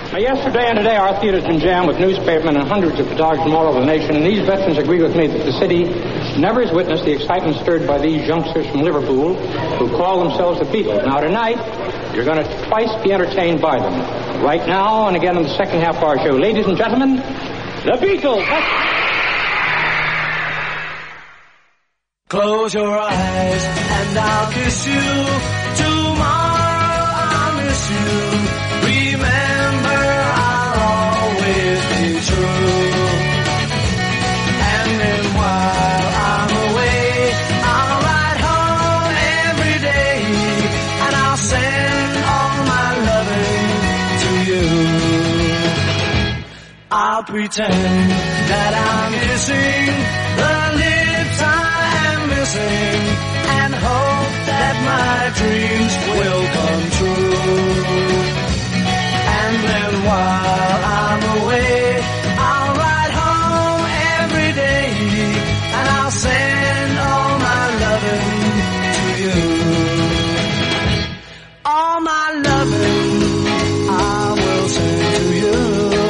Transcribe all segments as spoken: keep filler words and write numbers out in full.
Now, yesterday and today, our theater's been jammed with newspapermen and hundreds of photographers from all over the nation, and these veterans agree with me that the city never has witnessed the excitement stirred by these youngsters from Liverpool who call themselves the Beatles. Now, tonight, you're going to twice be entertained by them. Right now, and again in the second half of our show. Ladies and gentlemen, the Beatles. Close your eyes and I'll kiss you. Tomorrow I'll miss you. Remember, I'll always be true. And then while I'm away, I'll ride home every day, and I'll send all my loving to you. I'll pretend that I'm kissing the lips I am missing, and hope that my dreams will come true. And then while I'm away, I'll ride home every day, and I'll send all my loving to you. All my loving I will send to you.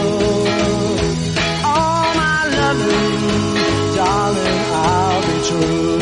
All my loving, darling, I'll be true.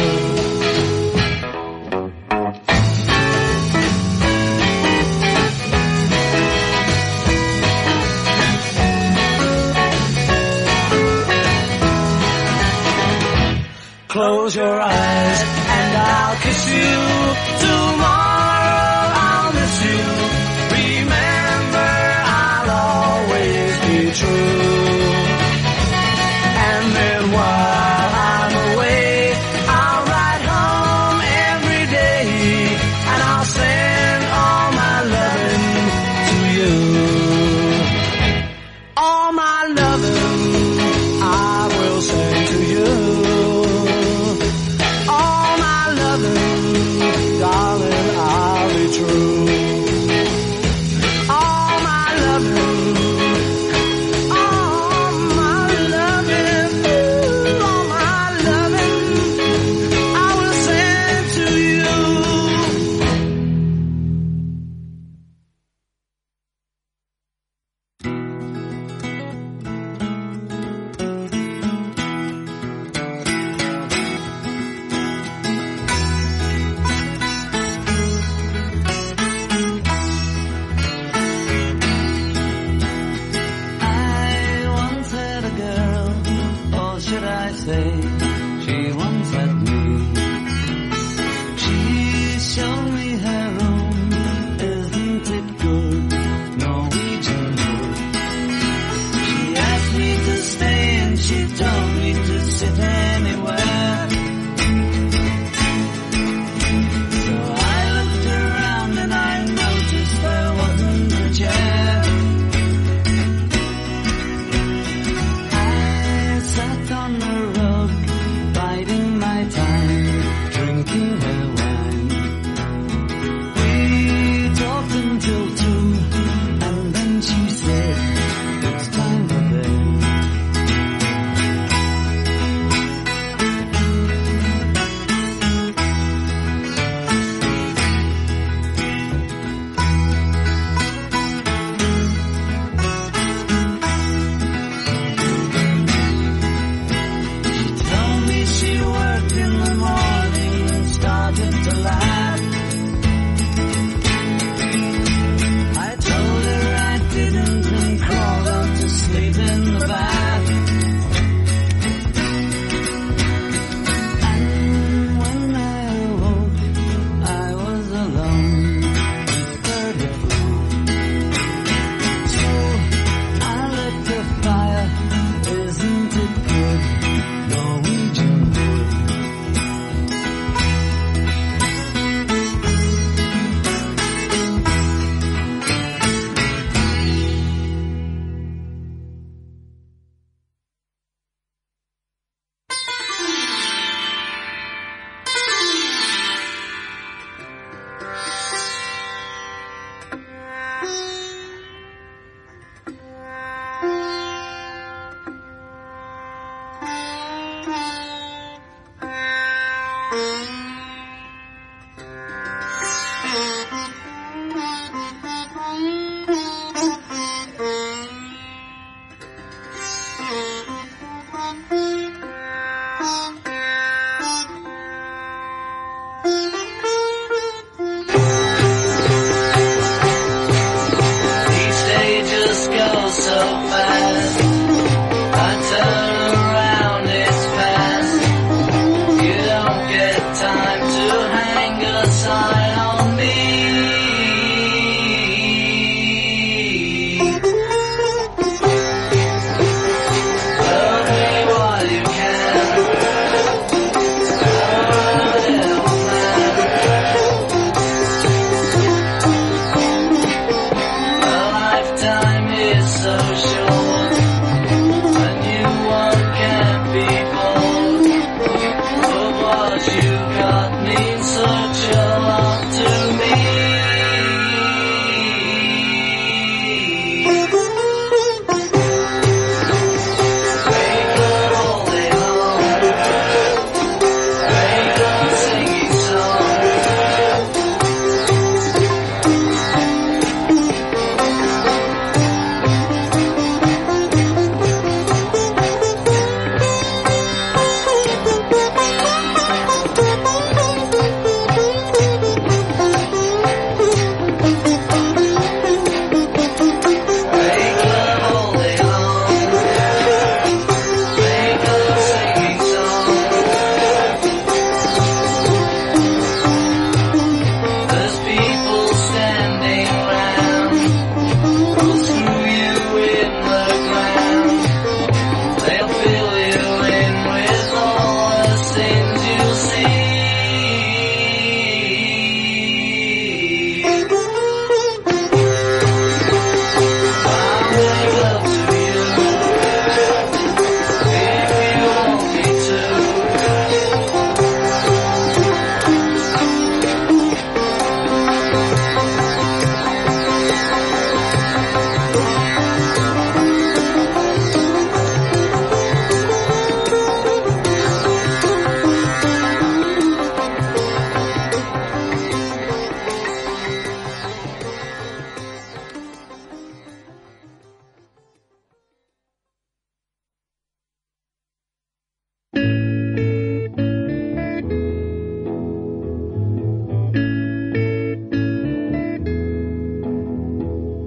Close your eyes and I'll kiss you. Tomorrow I'll miss you. Remember, I'll always be true. And then while I'm away, I'll ride home every day, and I'll send all my loving to you. All my loving I will send to you. Darling, I'll be true. All my loving, all my loving, ooh, all my loving, I will send to you.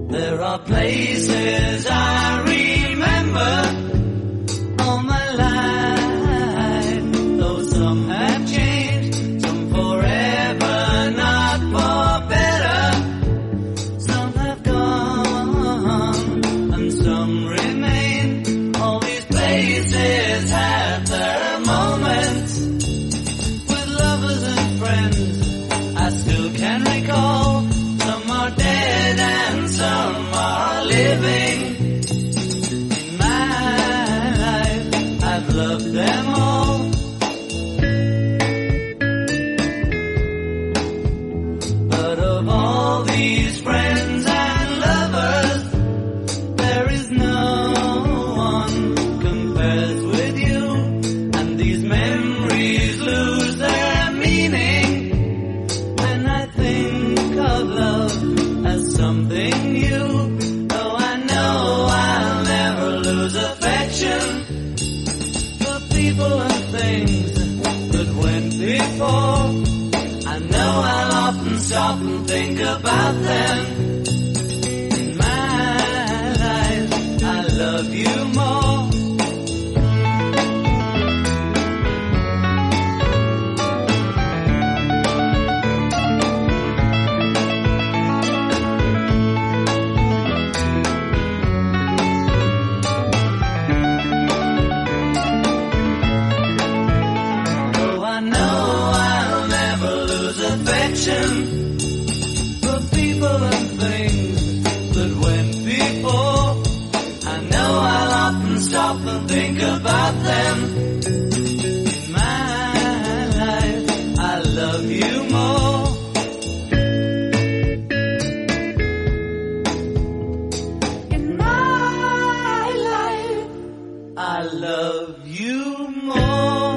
There are places I remember all my life, though some have changed, some forever, not for better. Some have gone, and some remain. All these places have their moments with lovers and friends I still can recall. Some are dead and some are living. In my life, I've loved them all. But of all these friends and lovers, there is no one compares with you. And these memories lose their meaning when I think of love as something new. Though I know I'll never lose affection for people and things that went before. I know I'll often stop and think about them. In my life, I love you more. For people and things that went before, I know I'll often stop and think about them. In my life, I love you more. In my life, I love you more.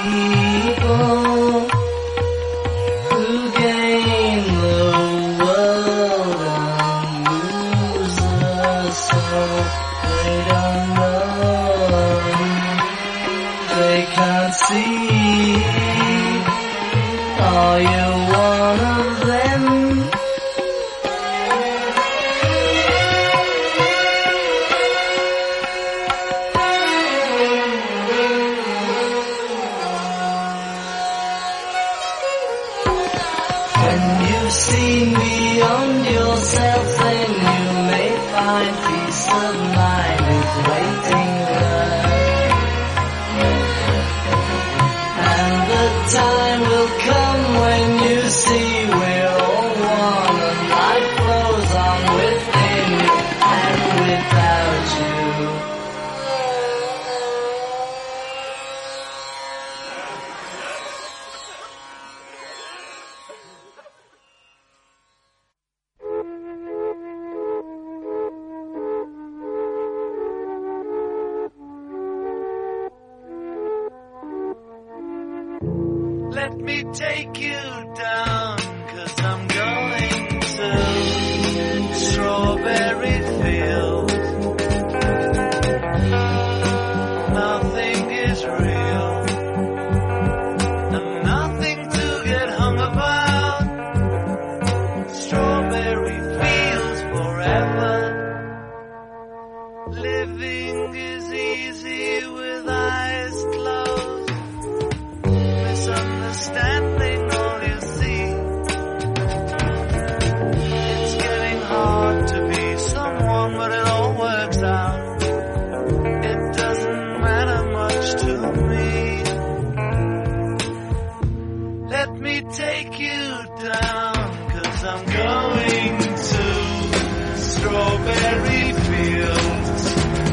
people who gain the world and lose their soul. They don't know, they can't see. Are you one of them? When you've seen beyond yourself, then you may find peace of mind is waiting there. And the time will come when you see we're all one, and life flows on within you and without you. Let me take you down, 'cause I'm going to Strawberry Fields. Nothing is real, and nothing to get hung about. Strawberry Fields forever. Living is easy with eyes closed. Misunderstanding all you see. It's getting hard to be someone, but it all works out. It doesn't matter much to me. Let me take you down, 'cause I'm going to Strawberry Fields.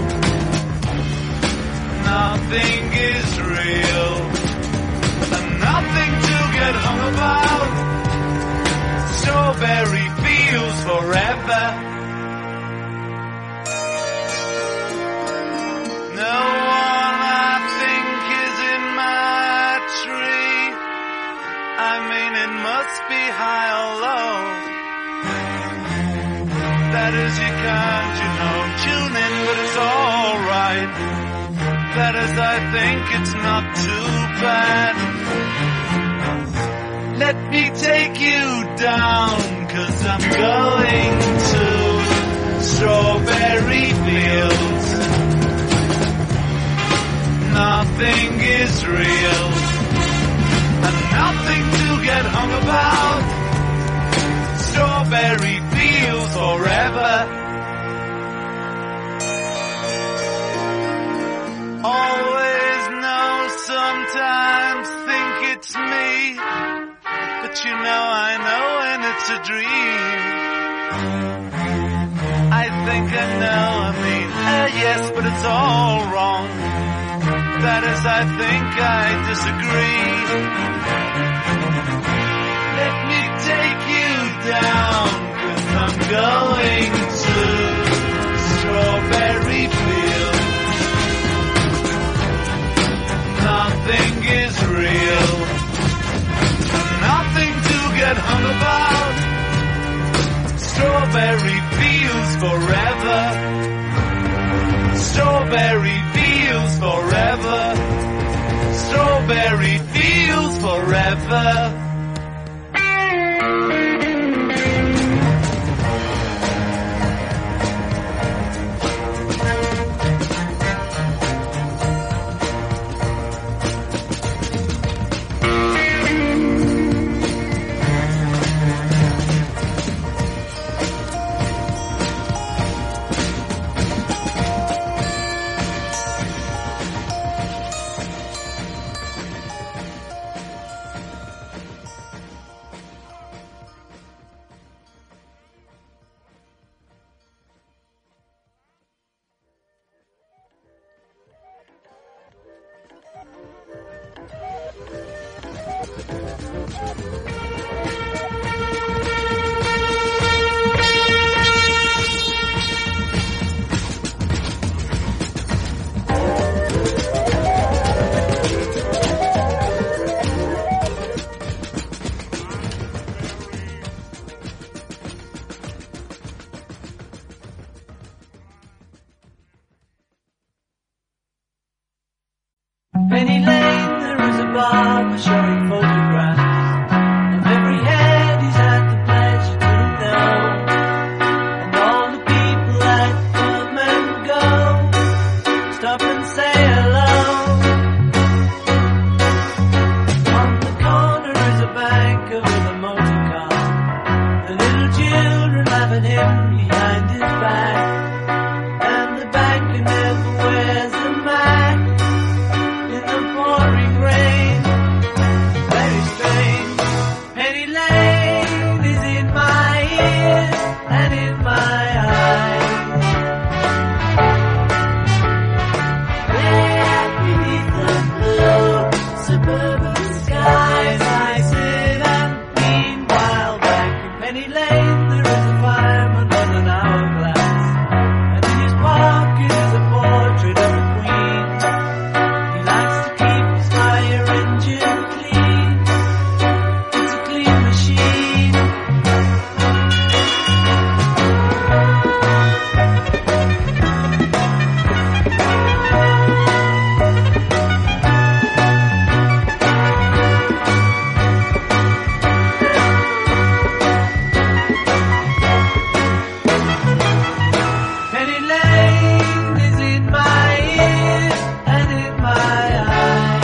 Nothing is real, nothing to get hung about. Strawberry Fields forever. No one I think is in my tree. I mean, it must be high or low. That is, you can't, you know, tune in, but it's alright. That is, I think it's not too bad. Let me take you down, 'cause I'm going to Strawberry Fields. Nothing is real, and nothing to get hung about. Strawberry Fields forever. Always know, sometimes think it's me, but you know I know when it's a dream. I think I know, I mean, uh, yes, but it's all wrong. That is, I think I disagree. Let me take you down, 'cause I'm going to Strawberry Fields. Nothing is real, nothing to get hung about. Strawberry Fields forever. Strawberry Fields forever. Strawberry Fields forever. Penny Lane, there is a barber showing photographs of every head he's had the pleasure to know, and all the people that come and go stop and say hello. On the corner is a banker with a motor car, the little children laugh at him behind his back, and the banker never wears a mask in the pouring rain. Very strange. Penny Lane is in my ears and in my eyes. There beneath the blue suburban skies, I sit and meanwhile back in Penny Lane there is a fireman with an hourglass, and in his pocket is a portrait of a queen. He likes to keep his fire engine clean. It's a clean machine. Penny Lane is in my ears and in my eyes.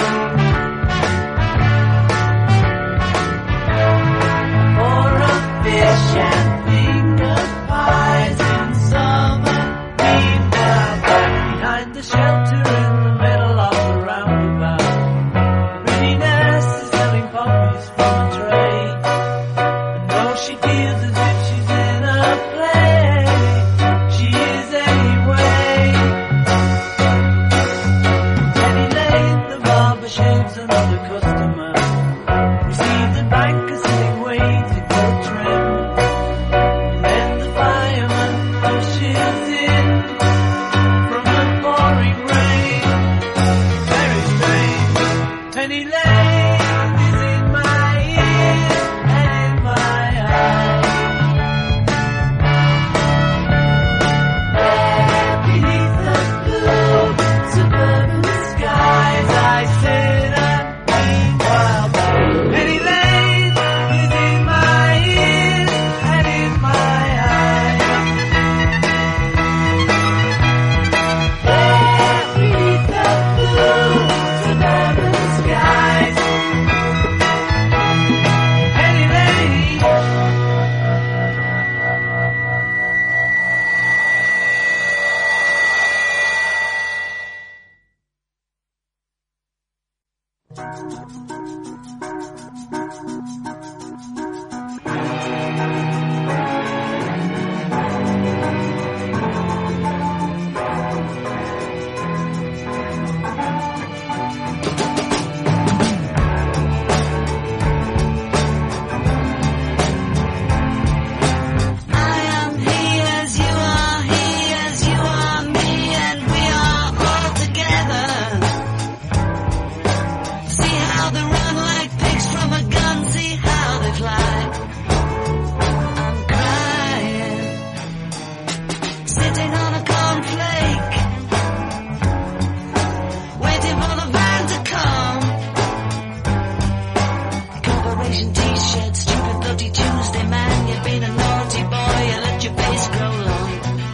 For a fish and finger pies in summer. Meanwhile, back behind the shelter in the middle of the roundabout, the pretty nurse is selling puppies from a tray. And though she feels as if she's in a play, she is anyway. Penny Lane, the barber shaves another customer. We see the banker sitting waiting for a trim. And then the fireman rushes in from the pouring rain. Very strange. Penny Lane is in my ears and in my eyes. There beneath the blue suburban skies, I sit and meanwhile back. Penny Lane is in my ears and in my eyes. There beneath the blue suburban skies, Penny Lane. I am he as you are, he as you are me, and we are all together. See how they run like pigs from a gun, see how they fly. I'm crying, sitting on a cornflake, waiting for the van to come. Corporation t-shirt, stupid bloody Tuesday, man, you've been a naughty boy, you let your face grow long.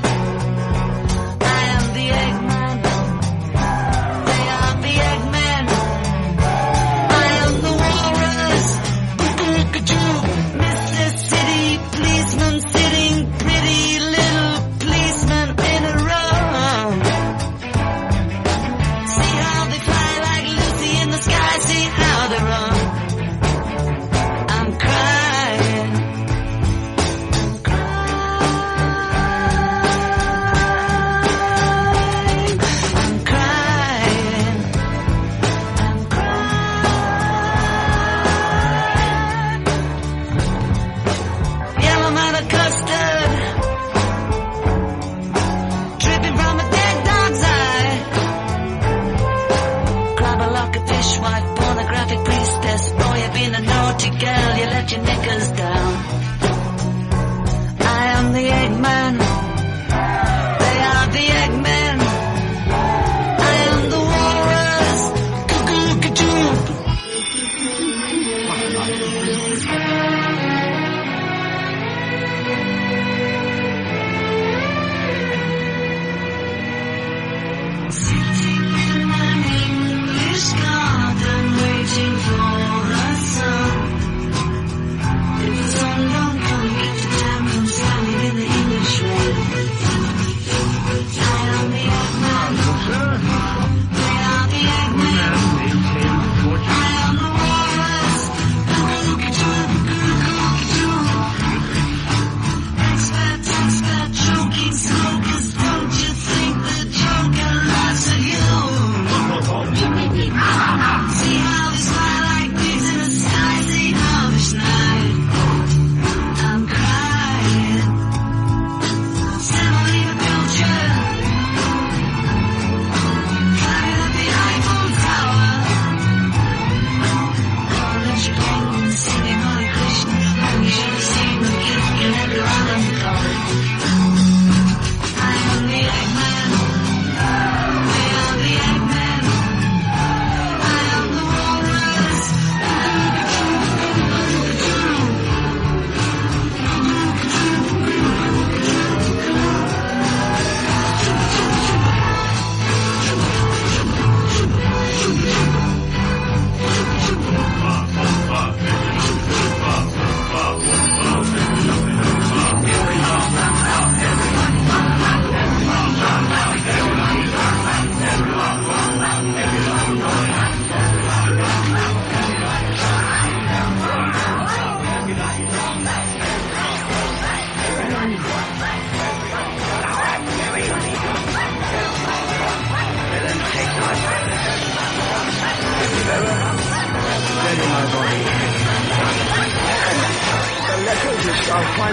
I am the Eggman, they are the Eggmen. I am the walrus, Boo-Boo-Ka-Choo, Mister City policeman sitting pretty little policeman in a row. See how they fly like Lucy in the sky, see how they run. I'm crying, I'm crying, I'm crying, I'm crying. Yellow matter custard, dripping from a dead dog's eye. Grab a lock of fishwife, pornographic priestess. Boy, you've been a naughty girl, you let your knickers down. I am the Eggman, they are the Eggmen. I am the walrus,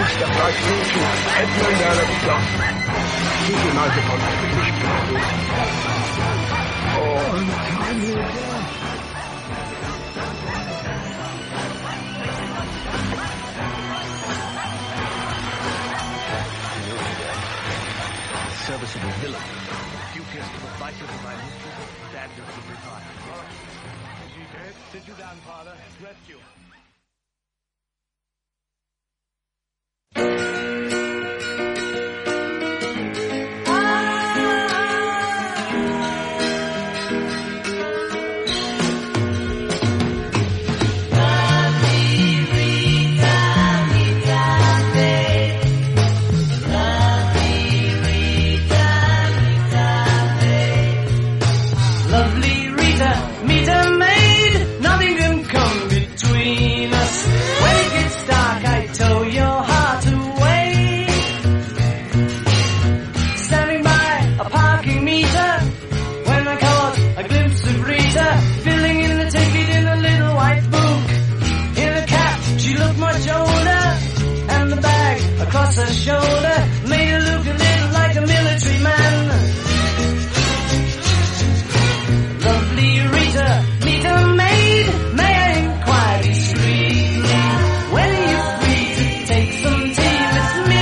Step right through to Edmund Alexander. Keep your knife upon the British people. Oh, untimely death. Serviceable villain. Dubious to the vices of my mistress, standards of retirement. Is he dead? Sit you down, Father. Rest you. Across her shoulder, made her look a little like a military man. Lovely Rita, meet a maid, may I inquire discreetly, when are you free to take some tea with me?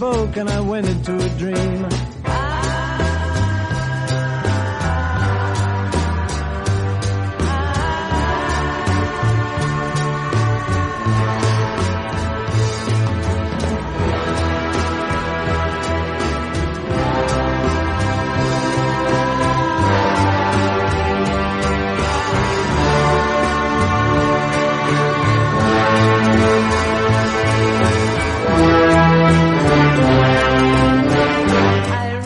awoke and I went into a dream. I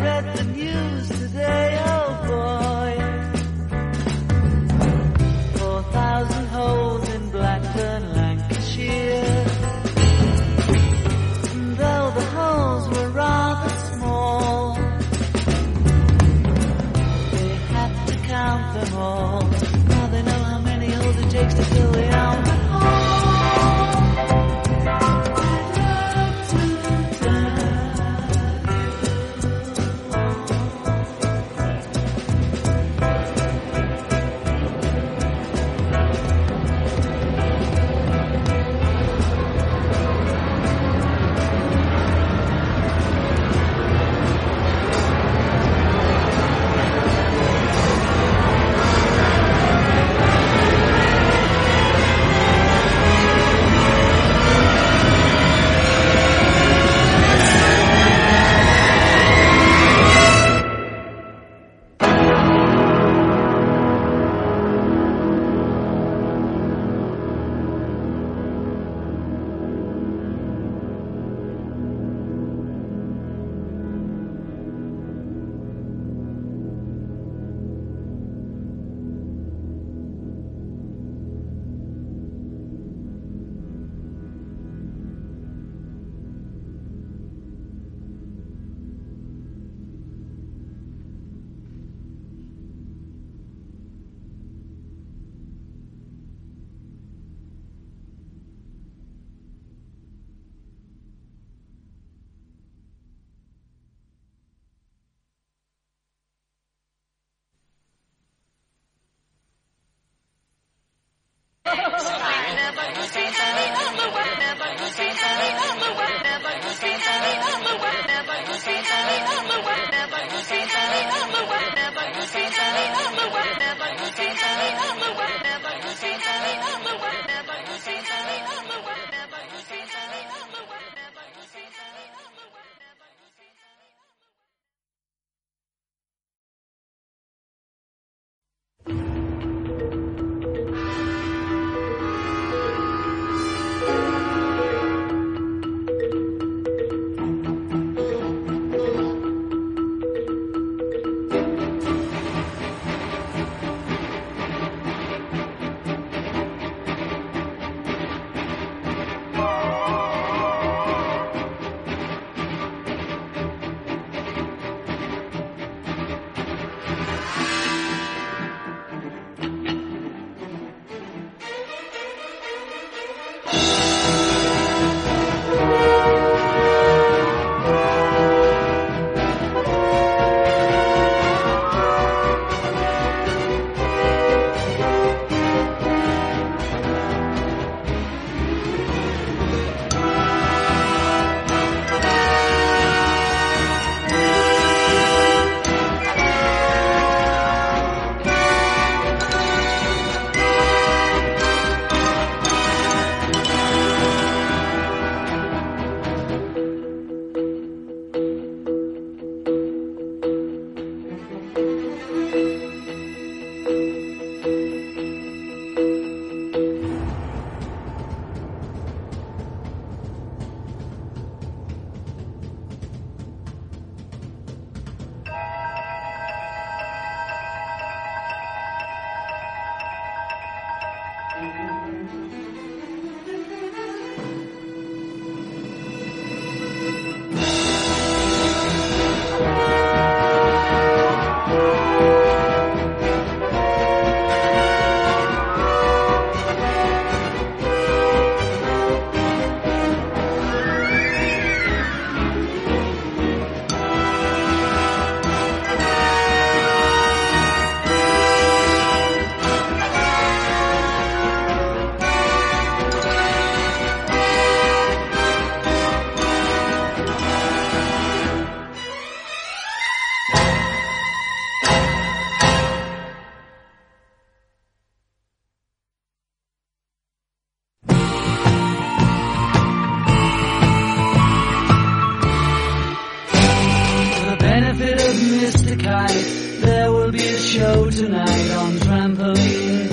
tonight on trampoline.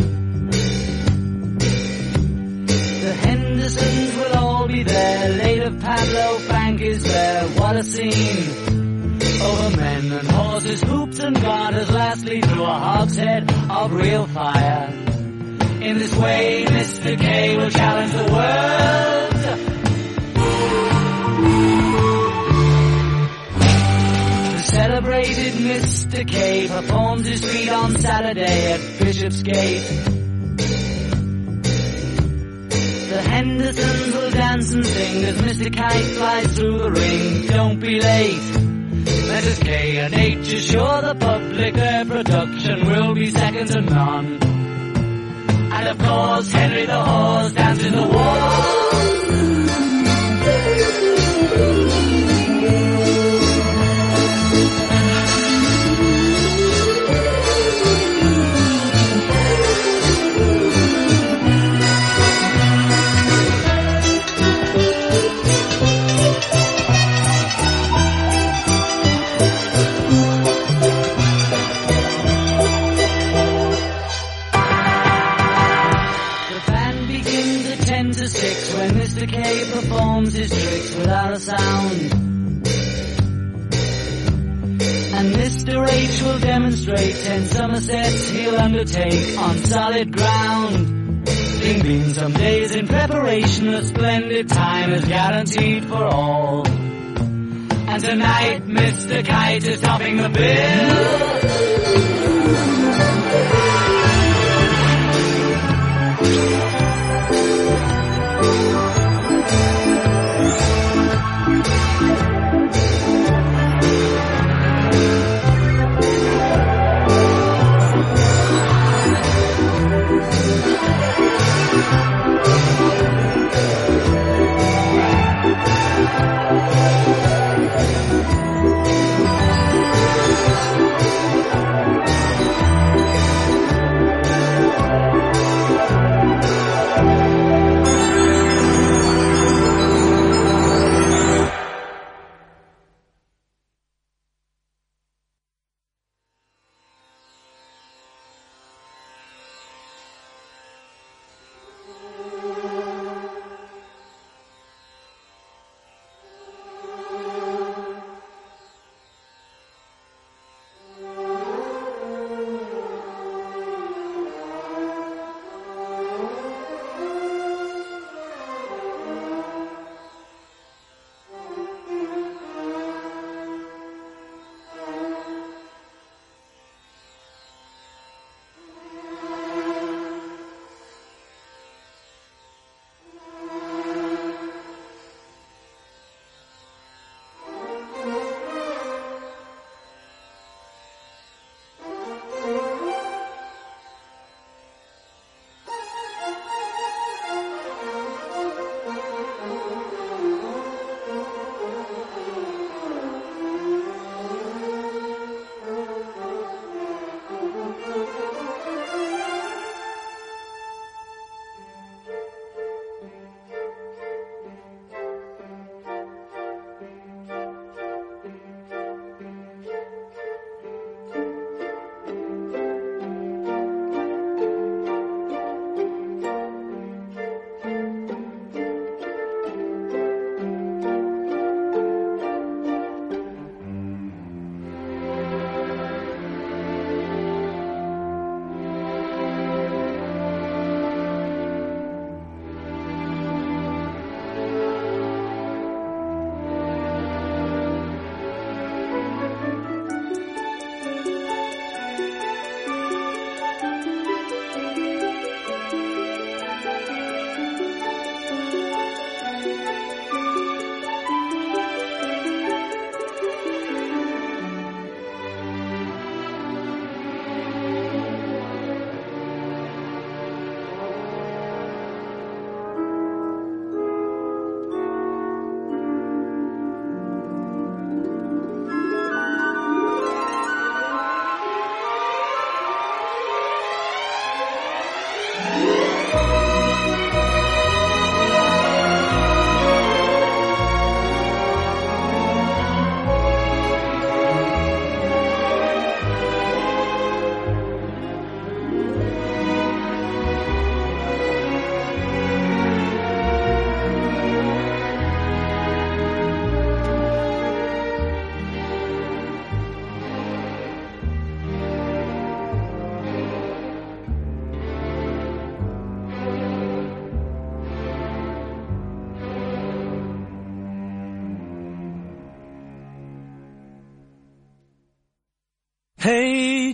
The Hendersons will all be there. Later Pablo Frank is there. What a scene. Over men and horses, hoops and garters. Lastly through a hogshead of real fire. In this way Mister K will challenge the world. The celebrated Mister K performs his feat on Saturday at Bishopsgate. The Hendersons will dance and sing as Mister Kite flies through the ring. Don't be late. Missus K and H assure the public their production will be second to none. And of course Henry the Horse dances the waltz. When Mister K performs his tricks without a sound, and Mister H will demonstrate ten Somersets he'll undertake on solid ground. Bing bing, some days in preparation, a splendid time is guaranteed for all. And tonight Mister Kite is topping the bill.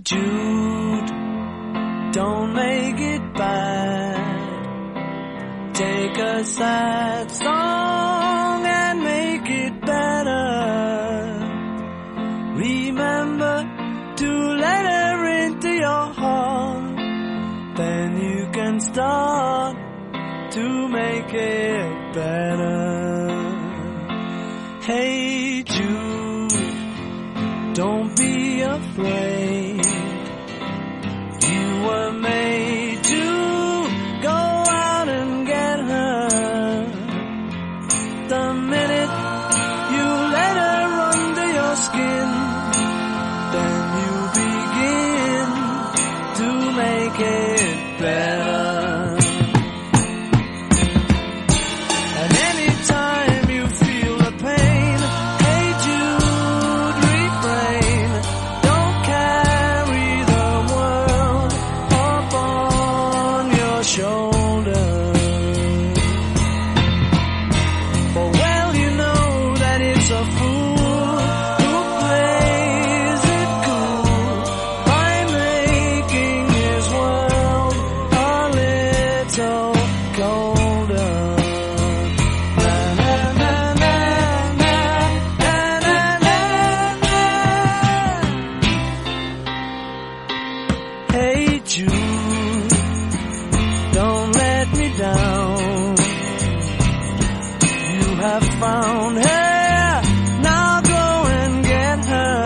Jude, don't make it bad. Take a sad song and make it better. Remember to let her into your heart. Then you can start to make it better. Hey Jude, don't be afraid. You were made to go out and get her. The minute you let her under your skin, then you begin to make it better. And anytime you feel the pain, hey Jude, refrain. Don't carry the world up on your shoulders. For well you know that it's a fool who plays it cool by making his world a little colder. Na, na, na, na, na, na, na, na, na. Hey Jude, don't let me down. You have found her, now go and get her.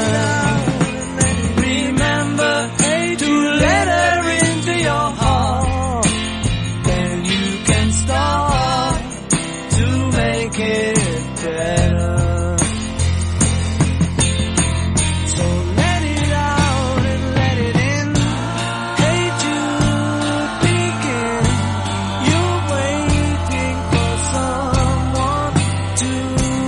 Remember to let her into your heart. Then you can start to make it better. So let it out and let it in. Hey Jude, begin. You're waiting for someone to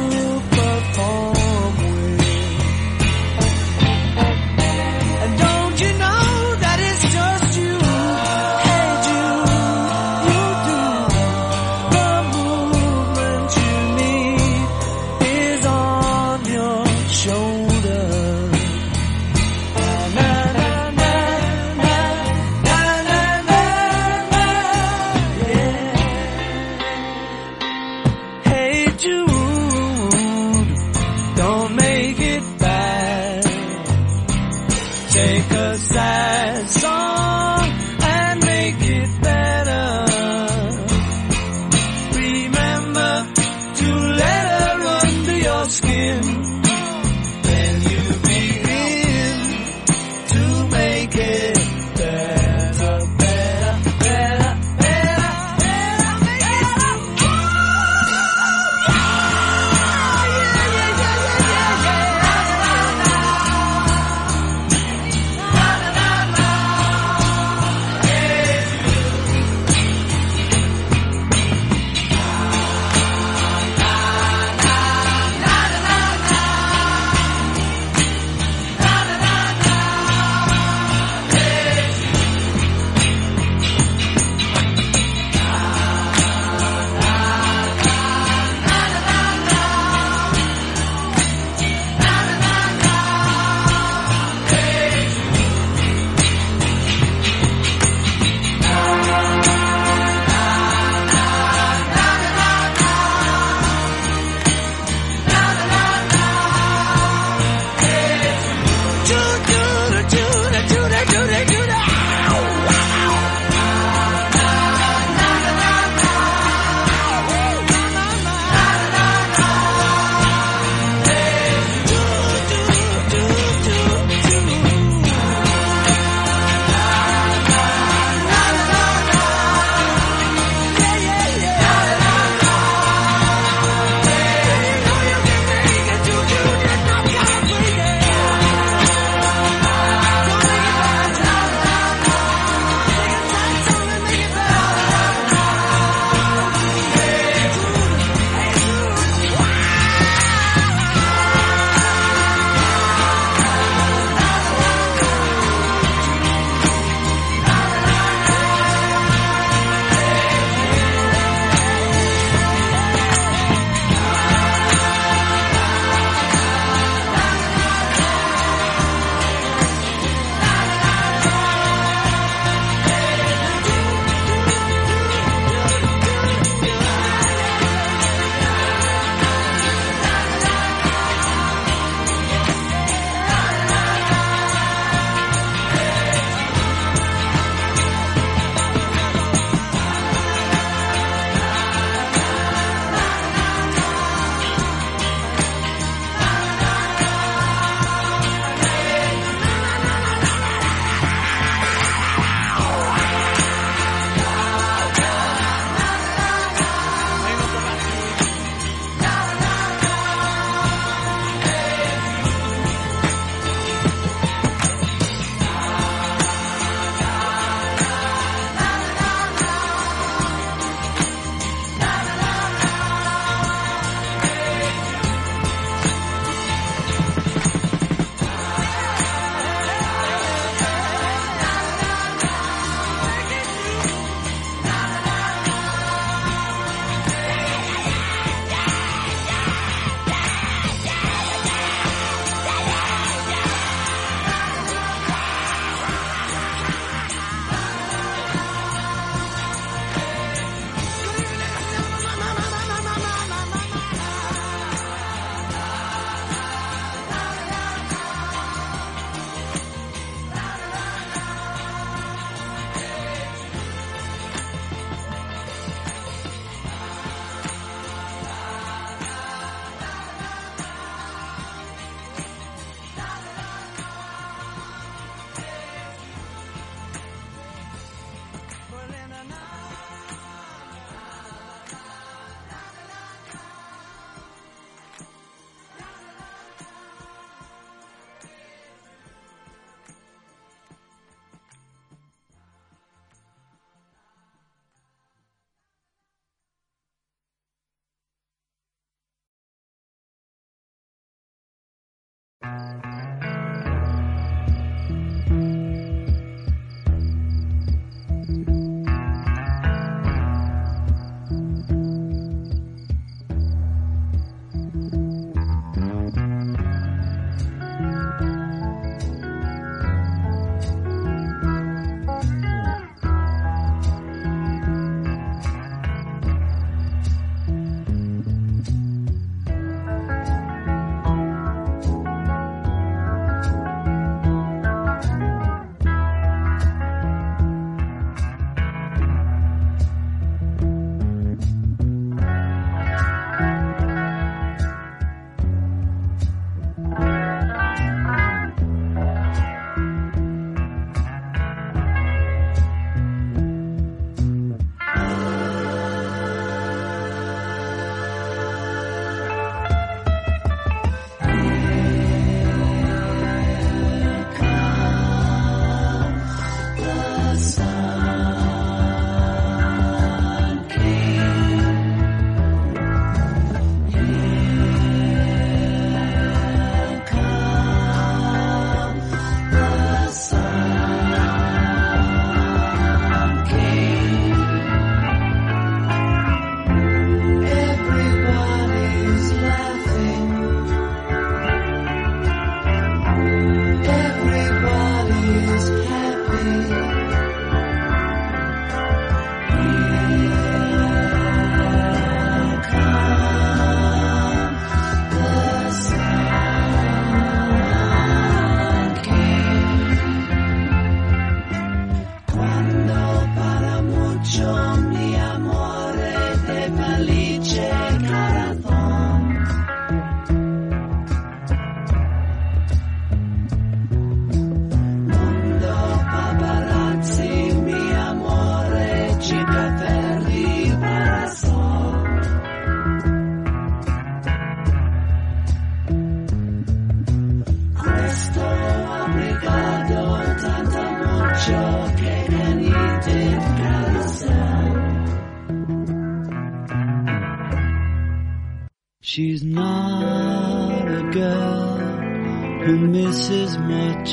She's not a girl who misses much.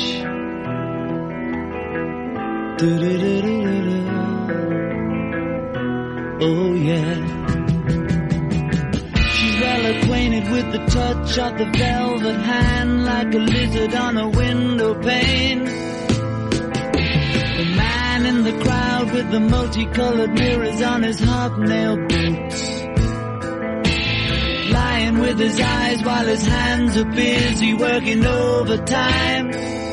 Do-do-do-do-do-do. Oh yeah. She's well acquainted with the touch of the velvet hand, like a lizard on a window pane. The man in the crowd with the multicolored mirrors on his hobnail boots, lying with his eyes while his hands are busy working overtime.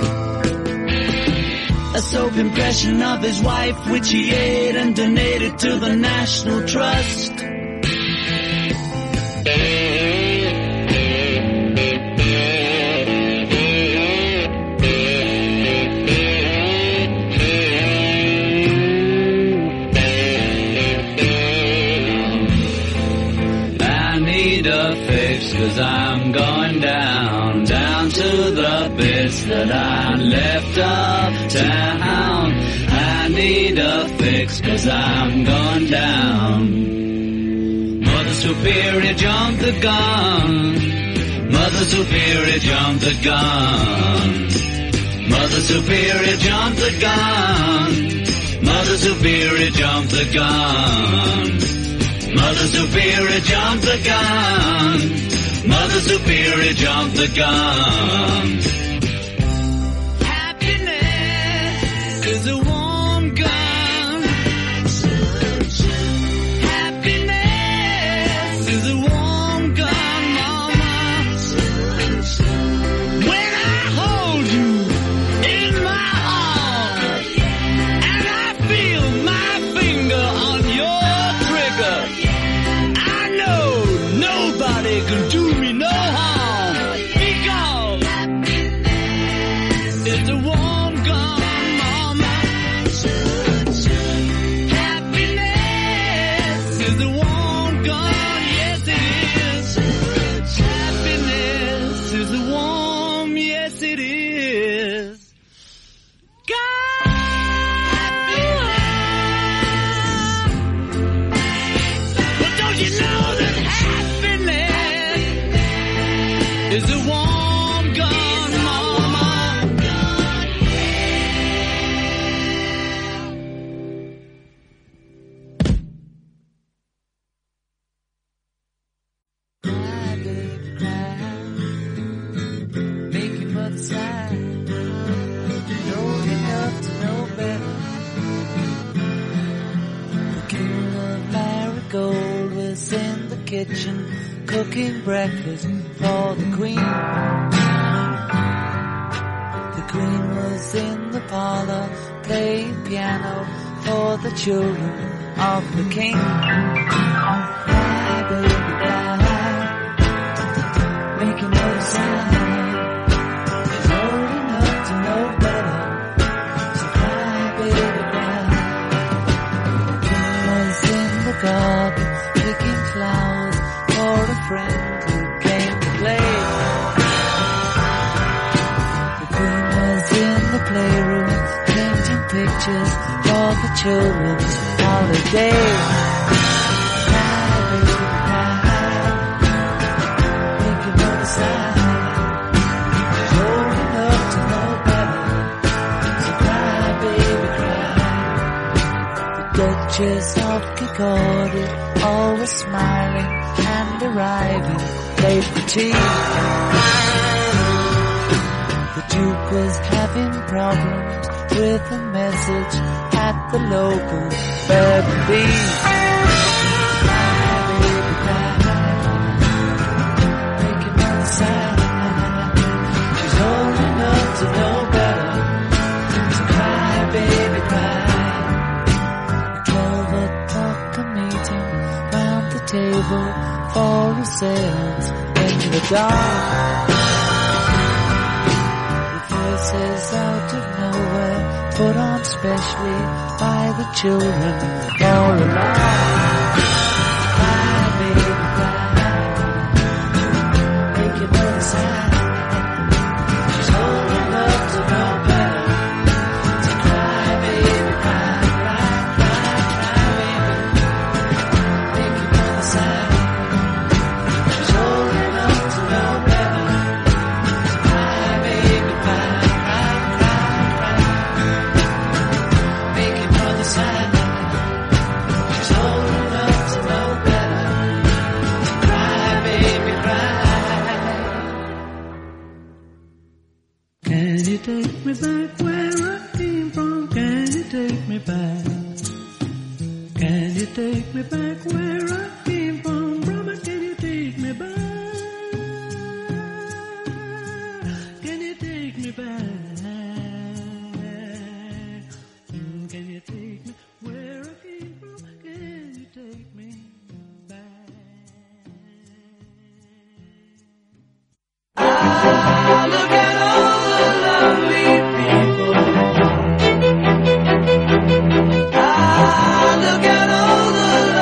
A soap impression of his wife, which he ate and donated to the National Trust. Cause I'm going down, down to the bits that I left uptown. I need a fix cause I'm going down. Mother Superior jumped the gun. Mother Superior jumped the gun. Mother Superior jumped the gun. Mother Superior jumped the gun. Mother Superior jumped the gun. Mother Superior jumped the gun. Happiness is a warm gun. Happiness is a warm gun, mama. When I hold you in my arms and I feel my finger on your trigger, I know nobody can do me no harm, because it's a warm gun, mama. Happiness is a warm gun, yes it is. Happiness is a warm, yes it is. God. But don't you know that happiness is a warm gun, mama? Cry, baby, cry. Make your mother sigh. Know enough to know better. The king of Marigold was in the kitchen cooking breakfast for the queen. The queen was in the parlor playing piano for the children of the king. Cry, baby, cry. Make another sign. She's old enough to know better. So cry, baby, cry. The king was in the garden picking flowers for a friend who came to play. The queen was in the playroom painting pictures for the children's holiday. Cry, baby, cry. Make another sign. She's old enough to know better. So cry, baby, cry. The Duchess of Kirkcaldy, always smiling and arriving late for tea. The Duke was having problems with a message at the local B and B. Cry, baby, cry. Make another sign. She's old enough to know better. So cry, baby, cry. Twelve o'clock a meeting round the table for ourselves in the dark. The voices out of nowhere put on specially by the children all along. Cry, baby, cry. Make another sign. She's old enough to know better. So cry, baby, cry, cry, cry, cry, baby. Make another sign. She's old take me back where I came from? Can you take me back? Can you take me back where I came from? Brother, can you take me back? Can you take me back? Mm, Can you take me where I came from? Can you take me back? Ah, look at all the lovely people. Ah, look at all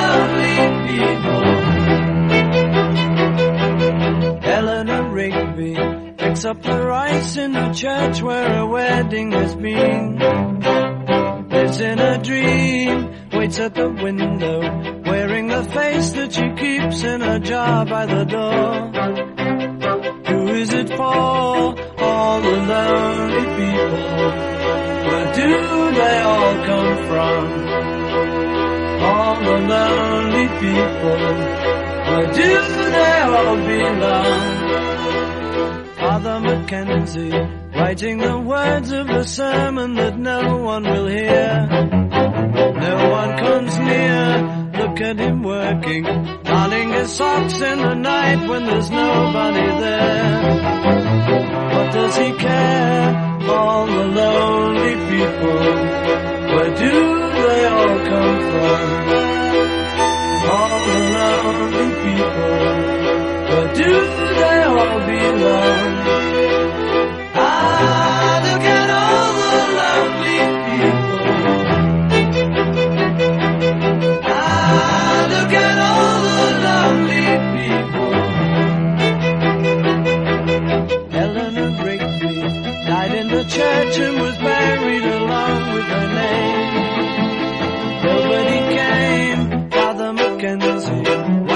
the lovely people. Eleanor Rigby picks up the rice in the church where a wedding has been. Lives in a dream, waits at the window, wearing the face that she keeps in a jar by the door. Who is it for? All the lonely people. Where do they all come from? All the lonely people. Where do they all belong? Father Mackenzie, writing the words of the sermon that no one will hear. No one comes near, look at him working, darning his socks in the night when there's nobody there. What does he care? All the lonely people, where do they all come from? All the lonely people, where do they all belong? Ah, look at all the lovely people. Ah, look at all the lovely people. Eleanor Rigby died in the church and was buried along with her name. Nobody came, Father Mackenzie